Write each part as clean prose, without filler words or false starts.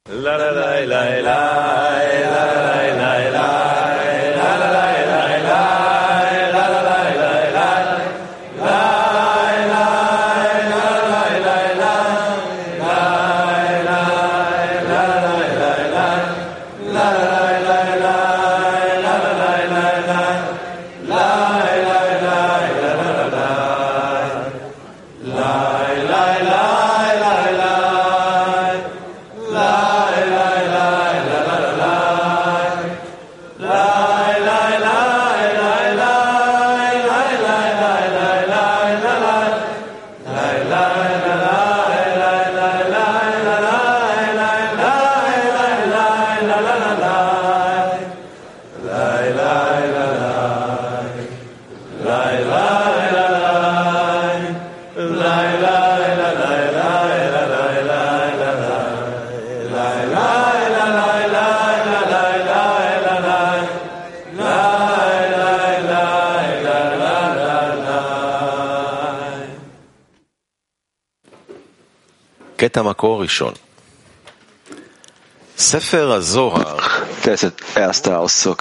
קטע מקור ראשון. ספר הזוהר. Das ist der erste Auszug.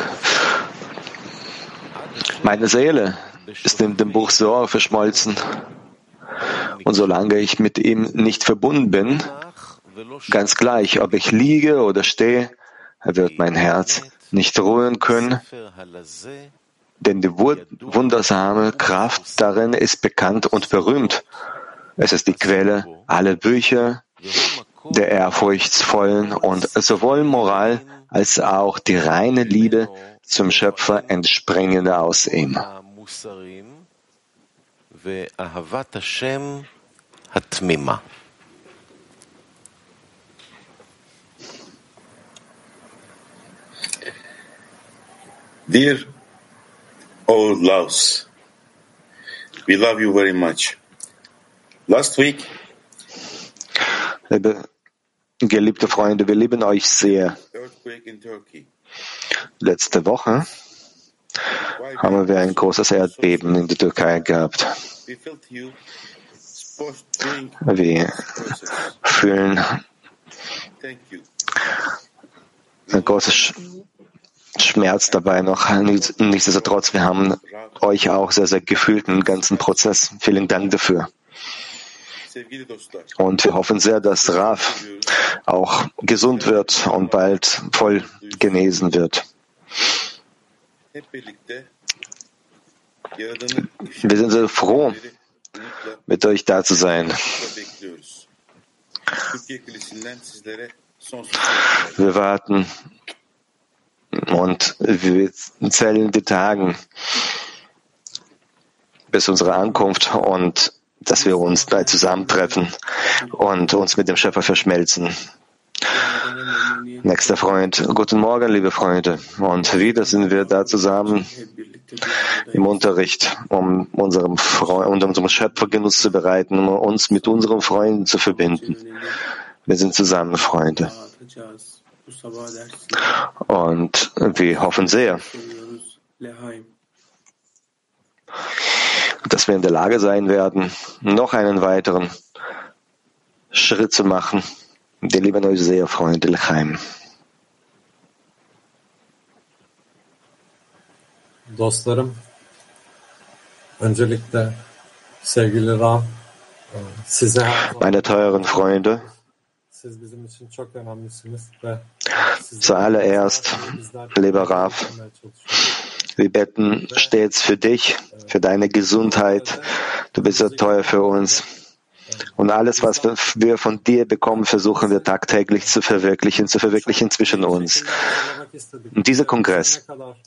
Meine Seele ist in dem Buch Zohar verschmolzen. Und solange ich mit ihm nicht verbunden bin, ganz gleich, ob ich liege oder stehe, wird mein Herz nicht ruhen können, denn die wundersame Kraft darin ist bekannt und berühmt. Es ist die Quelle aller Bücher, der ehrfurchtsvollen und sowohl Moral als auch die reine Liebe zum Schöpfer entspringende aus ihm. Dear old Laos, we love you very much. Last week, geliebte Freunde, wir lieben euch sehr. earthquake in Turkey. Letzte Woche haben wir ein großes Erdbeben in der Türkei gehabt. We felt you supposed to drink Wir process. fühlen Thank you. ein großes Schmerz dabei noch. Nichtsdestotrotz, wir haben euch auch sehr, sehr gefühlt im ganzen Prozess. Vielen Dank dafür. Sevgili dostlar, Und wir hoffen sehr, dass Raf auch gesund wird und bald voll genesen wird. hep birlikte Yaradan'ı Wir sind sehr froh, umutla mit euch da zu sein. bekliyoruz. Türkiye Kulisi'nden sizlere sonsuz Wir warten und wir zählen die Tagen bis unsere Ankunft und dass wir uns da zusammentreffen und uns mit dem Schöpfer verschmelzen. Nächster Freund, guten Morgen, liebe Freunde. Und wieder sind wir da zusammen im Unterricht, um unserem Schöpfer Genuss zu bereiten, um uns mit unseren Freunden zu verbinden. Wir sind zusammen, Freunde. Und wir hoffen sehr, dass wir in der Lage sein werden, noch einen weiteren Schritt zu machen. Wir lieben euch sehr, Freunde, L'chaim. Dostlarım, öncelikle sevgili Ram, size her zaman Meine teuren Freunde, siz bizim için çok önemlisiniz ve zuallererst, lieber Raf, wir beten stets für dich, für deine Gesundheit. Du bist so teuer für uns. Und alles, was wir von dir bekommen, versuchen wir tagtäglich zu verwirklichen zwischen uns. Und dieser Kongress,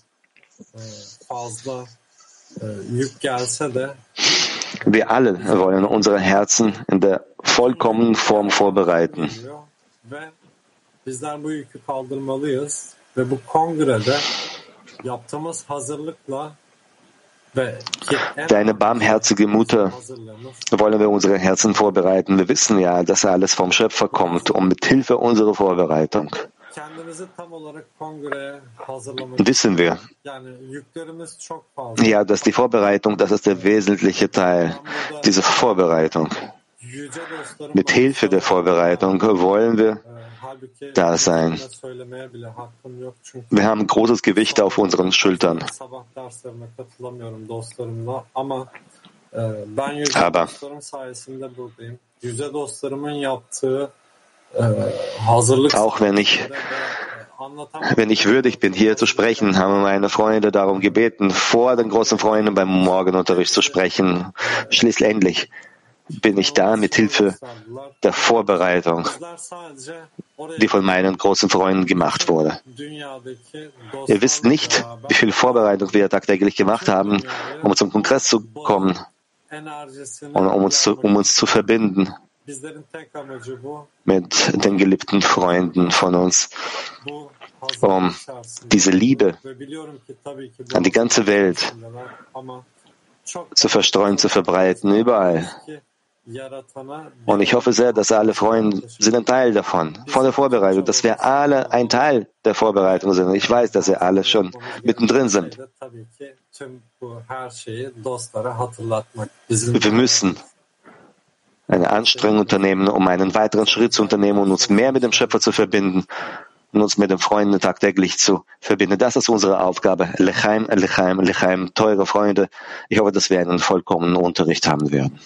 fazla yük gelse de wir alle wollen unsere Herzen in der vollkommenen Form vorbereiten. ve bizler bu yükü kaldırmalıyız ve bu kongrede yaptığımız hazırlıkla ve Deine barmherzige Mutter wollen wir unsere Herzen vorbereiten. Wir wissen ja, dass alles vom Schöpfer kommt und mit Hilfe unserer Vorbereitung kendimizi tam olarak kongreye hazırlamak wissen wir, yani yüklerimiz çok fazla. ja, dass die Vorbereitung, das ist der wesentliche Teil, diese Vorbereitung. Yüce dostlarım Mit Hilfe der Vorbereitung wollen wir da sein. Wir haben großes Gewicht auf unseren Schultern. Aber auch wenn ich würdig bin, hier zu sprechen, haben meine Freunde darum gebeten, vor den großen Freunden beim Morgenunterricht zu sprechen. Schließlich bin ich da mit Hilfe der Vorbereitung, die von meinen großen Freunden gemacht wurde. Ihr wisst nicht, wie viel Vorbereitung wir tagtäglich gemacht haben, um zum Kongress zu kommen und um uns zu verbinden mit den geliebten Freunden von uns, um diese Liebe an die ganze Welt zu verstreuen, zu verbreiten, überall. Und ich hoffe sehr, dass alle Freunde sind ein Teil davon, von der Vorbereitung, dass wir alle ein Teil der Vorbereitung sind. Ich weiß, dass ihr alle schon mittendrin sind. Wir müssen eine Anstrengung unternehmen, um einen weiteren Schritt zu unternehmen und uns mehr mit dem Schöpfer zu verbinden und uns mit den Freunden tagtäglich zu verbinden. Das ist unsere Aufgabe. Lechaim, Lechaim, Lechaim, teure Freunde. Ich hoffe, dass wir einen vollkommenen Unterricht haben werden.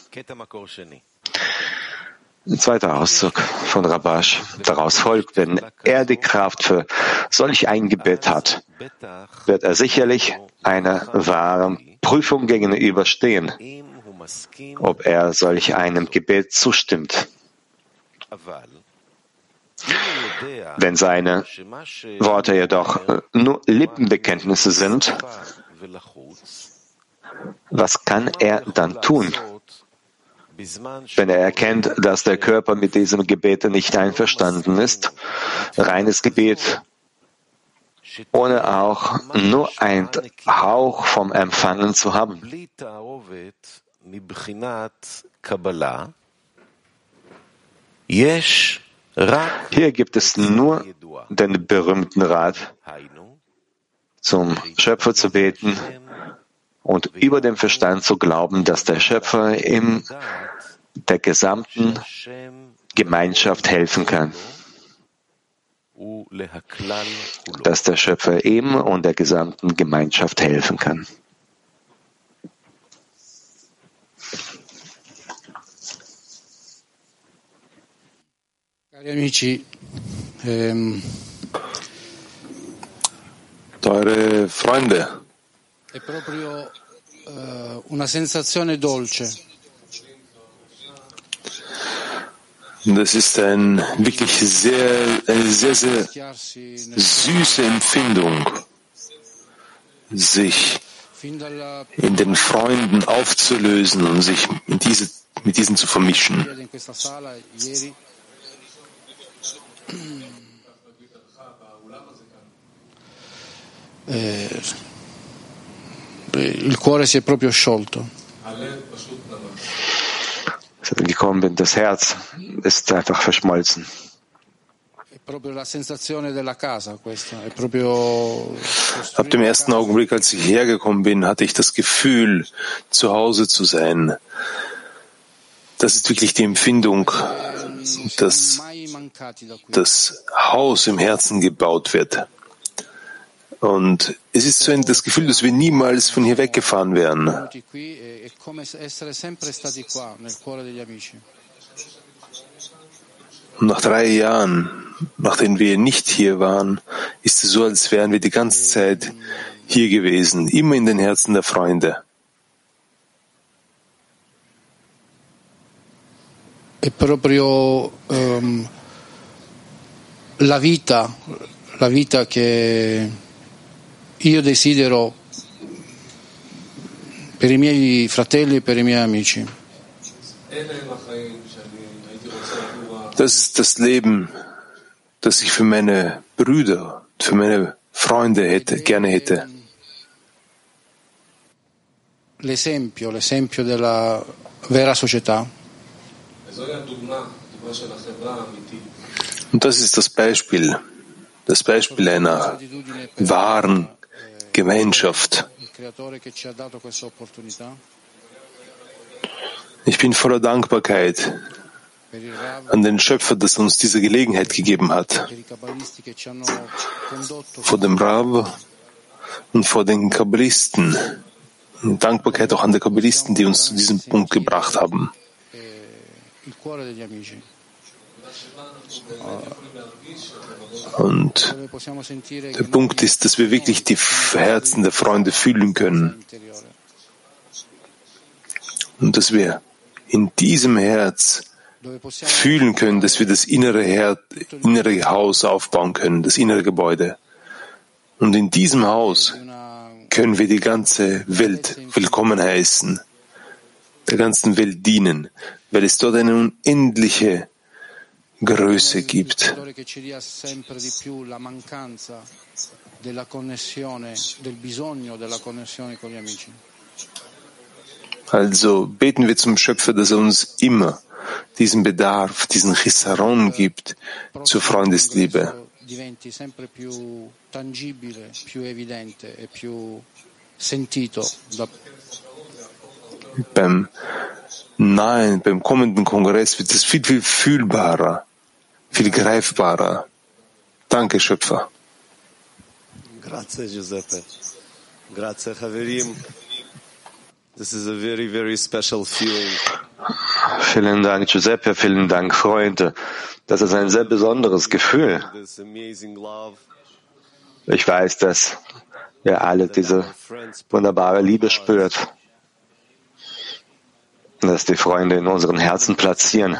Ein zweiter Auszug von Rabash. Daraus folgt, wenn er die Kraft für solch ein Gebet hat, wird er sicherlich einer wahren Prüfung gegenüberstehen, ob er solch einem Gebet zustimmt. Wenn seine Worte jedoch nur Lippenbekenntnisse sind, was kann er dann tun? Wenn er erkennt, dass der Körper mit diesem Gebet nicht einverstanden ist, reines Gebet, ohne auch nur ein Hauch vom Empfangen zu haben. Hier gibt es nur den berühmten Rat, zum Schöpfer zu beten und über den Verstand zu glauben, dass der Schöpfer in der gesamten Gemeinschaft helfen kann. Dass der Schöpfer ihm und der gesamten Gemeinschaft helfen kann. Teure Freunde, è proprio una sensazione dolce. Das ist eine sehr, sehr süße Empfindung, sich in den Freunden aufzulösen und sich mit diesen zu vermischen. Il cuore si è proprio sciolto. Als ich gekommen bin, das Herz ist einfach verschmolzen. Ab dem ersten Augenblick, als ich hergekommen bin, hatte ich das Gefühl, zu Hause zu sein. Das ist wirklich die Empfindung, dass das Haus im Herzen gebaut wird. Und es ist so das Gefühl, dass wir niemals von hier weggefahren wären. Und nach 3 Jahren, nachdem wir nicht hier waren, ist es so, als wären wir die ganze Zeit hier gewesen, immer in den Herzen der Freunde. È proprio la vita che io desidero per i miei fratelli e per i miei amici. Das ist das Leben, das ich für meine Brüder, für meine Freunde gerne hätte. L'esempio della vera società. Und das ist das Beispiel einer wahren Gemeinschaft. Ich bin voller Dankbarkeit an den Schöpfer, dass er uns diese Gelegenheit gegeben hat. Vor dem Rav und vor den Kabbalisten. Dankbarkeit auch an die Kabbalisten, die uns zu diesem Punkt gebracht haben. Und der Punkt ist, dass wir wirklich die Herzen der Freunde fühlen können. Und dass wir in diesem Herz fühlen können, dass wir das innere Haus aufbauen können, das innere Gebäude. Und in diesem Haus können wir die ganze Welt willkommen heißen, der ganzen Welt dienen, weil es dort eine unendliche Größe gibt. Also beten wir zum Schöpfer, dass er uns immer diesen Bedarf, diesen Chisaron gibt zur Freundesliebe. Beim kommenden Kongress wird es viel, viel fühlbarer, viel greifbarer. Danke, Schöpfer. Grazie, Giuseppe. Grazie, Chaverim. This is a very, very special feeling. Vielen Dank, Giuseppe. Vielen Dank, Freunde. Das ist ein sehr besonderes Gefühl. Ich weiß, dass ihr alle diese wunderbare Liebe spürt, dass die Freunde in unseren Herzen platzieren.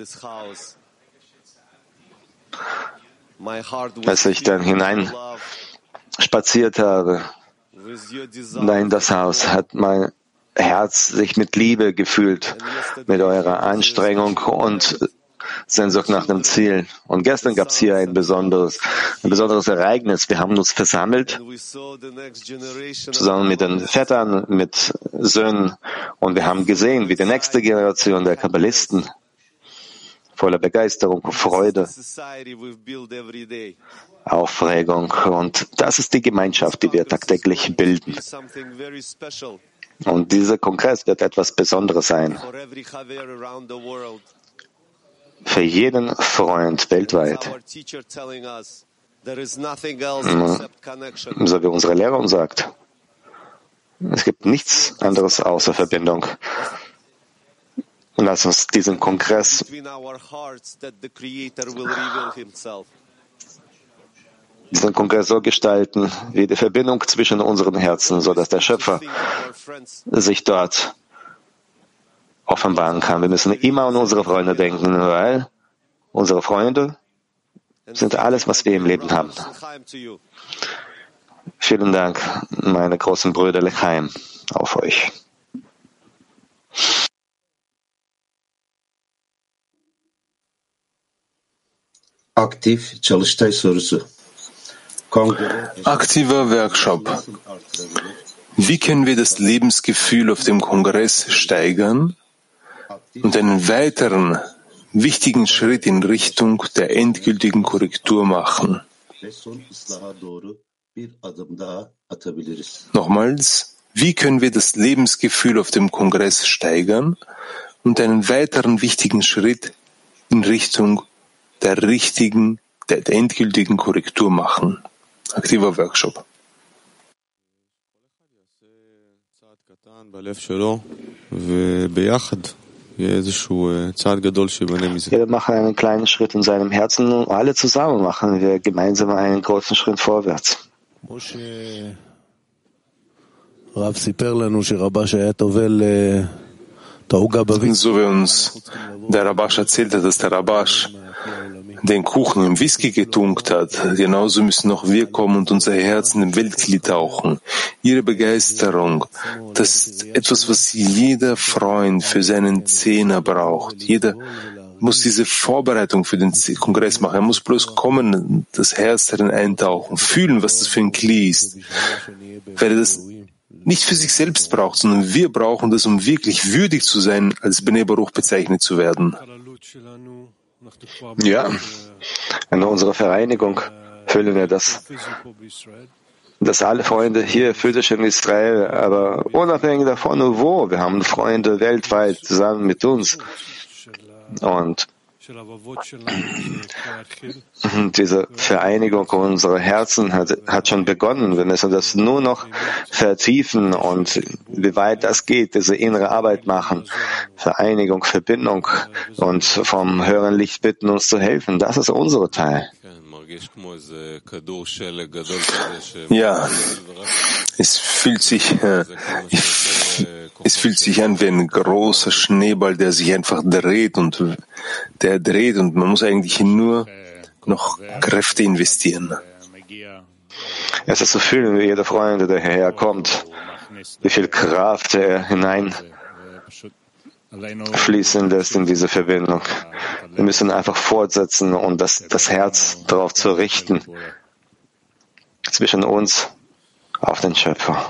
Als ich dann hinein spaziert habe, in das Haus, hat mein Herz sich mit Liebe gefühlt, mit eurer Anstrengung und Sehnsucht nach dem Ziel. Und gestern gab es hier ein besonderes Ereignis. Wir haben uns versammelt, zusammen mit den Vätern, mit Söhnen, und wir haben gesehen, wie die nächste Generation der Kabbalisten voller Begeisterung und Freude, Aufregung, und das ist die Gemeinschaft, die wir tagtäglich bilden. Und dieser Kongress wird etwas Besonderes sein. Für jeden Freund weltweit. So wie unsere Lehrer uns sagt. Es gibt nichts anderes außer Verbindung. Und lass uns diesen Kongress so gestalten, wie die Verbindung zwischen unseren Herzen, so dass der Schöpfer sich dort offenbaren kann. Wir müssen immer an unsere Freunde denken, weil unsere Freunde sind alles, was wir im Leben haben. Vielen Dank, meine großen Brüder Lechaim, auf euch. Aktiver Workshop. Wie können wir das Lebensgefühl auf dem Kongress steigern und einen weiteren wichtigen Schritt in Richtung der endgültigen Korrektur machen? Nochmals, wie können wir das Lebensgefühl auf dem Kongress steigern und einen weiteren wichtigen Schritt in Richtung der endgültigen Korrektur machen? Aktiver Workshop. Jeder mache einen kleinen Schritt in seinem Herzen und alle zusammen machen wir gemeinsam einen großen Schritt vorwärts. So wie uns der Rabash erzählt hat, dass der Rabash den Kuchen im Whisky getunkt hat, genauso müssen auch wir kommen und unser Herz in den Weltkli tauchen. Ihre Begeisterung, das ist etwas, was jeder Freund für seinen Zehner braucht. Jeder muss diese Vorbereitung für den Kongress machen. Er muss bloß kommen, das Herz darin eintauchen, fühlen, was das für ein Kli ist. Weil er das nicht für sich selbst braucht, sondern wir brauchen das, um wirklich würdig zu sein, als Bnei Baruch bezeichnet zu werden. Ja, in unserer Vereinigung fühlen wir das, dass alle Freunde hier physisch in Israel, aber unabhängig davon, wo, wir haben Freunde weltweit zusammen mit uns. Und Diese Vereinigung unserer Herzen hat schon begonnen. Wir müssen das nur noch vertiefen und wie weit das geht, diese innere Arbeit machen. Vereinigung, Verbindung und vom höheren Licht bitten, uns zu helfen. Das ist unser Teil. Ja, es fühlt sich an wie ein großer Schneeball, der sich einfach dreht und man muss eigentlich nur noch Kräfte investieren. Es ist zu fühlen, wie jeder Freund, der hierher kommt, wie viel Kraft er hineinfließen lässt in diese Verbindung. Wir müssen einfach fortsetzen und das Herz darauf zu richten, zwischen uns auf den Schöpfer.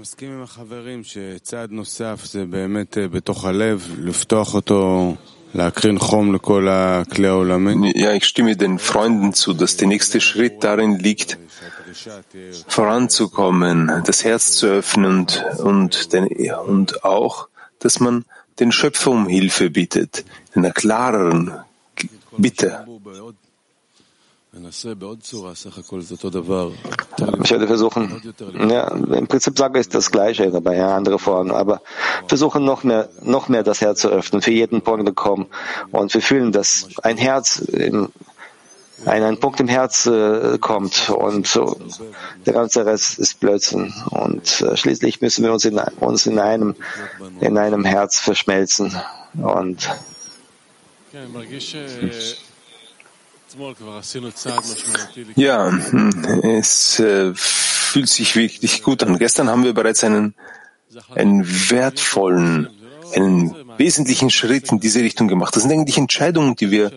Ja, ich stimme den Freunden zu, dass der nächste Schritt darin liegt, voranzukommen, das Herz zu öffnen und auch, dass man den Schöpfer um Hilfe bittet, in einer klareren Bitte. Ich werde versuchen, ja, im Prinzip sage ich das Gleiche, aber ja, andere Formen, aber versuchen noch mehr das Herz zu öffnen, für jeden Punkt kommen und wir fühlen, dass ein Herz ein Punkt im Herz kommt und so, der ganze Rest ist Blödsinn und schließlich müssen wir uns in einem Herz verschmelzen und ja, es fühlt sich wirklich gut an. Gestern haben wir bereits einen wertvollen, einen wesentlichen Schritt in diese Richtung gemacht. Das sind eigentlich Entscheidungen, die wir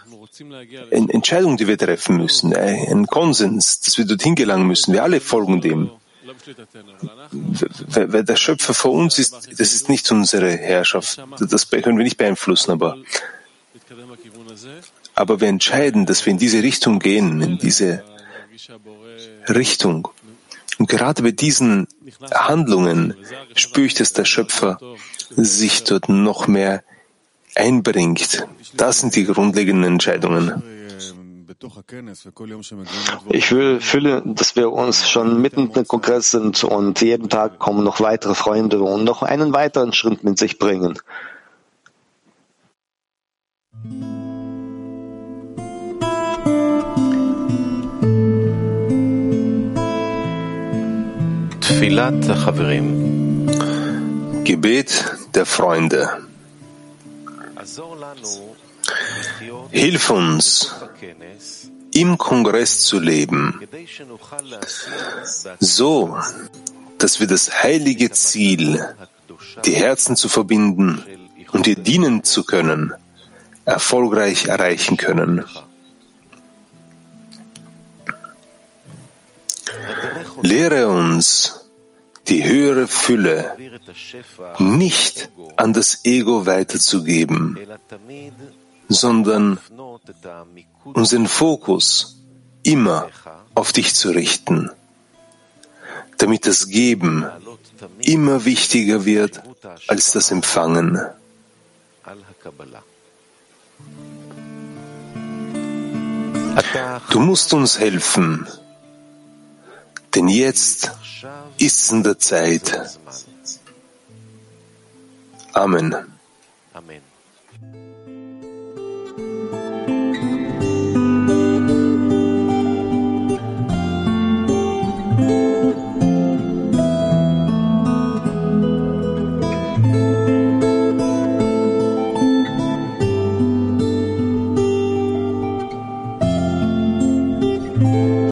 treffen müssen. Ein Konsens, dass wir dorthin gelangen müssen. Wir alle folgen dem. Wer der Schöpfer vor uns ist, das ist nicht unsere Herrschaft. Das können wir nicht beeinflussen, aber wir entscheiden, dass wir in diese Richtung gehen, in diese Richtung. Und gerade bei diesen Handlungen spüre ich, dass der Schöpfer sich dort noch mehr einbringt. Das sind die grundlegenden Entscheidungen. Ich fühle, dass wir uns schon mitten im Kongress sind und jeden Tag kommen noch weitere Freunde und noch einen weiteren Schritt mit sich bringen. Gebet der Freunde. Hilf uns, im Kongress zu leben, so, dass wir das heilige Ziel, die Herzen zu verbinden und dir dienen zu können, erfolgreich erreichen können. Lehre uns, die höhere Fülle nicht an das Ego weiterzugeben, sondern unseren Fokus immer auf dich zu richten, damit das Geben immer wichtiger wird als das Empfangen. Du musst uns helfen, denn jetzt ist es in der Zeit. Amen. Amen.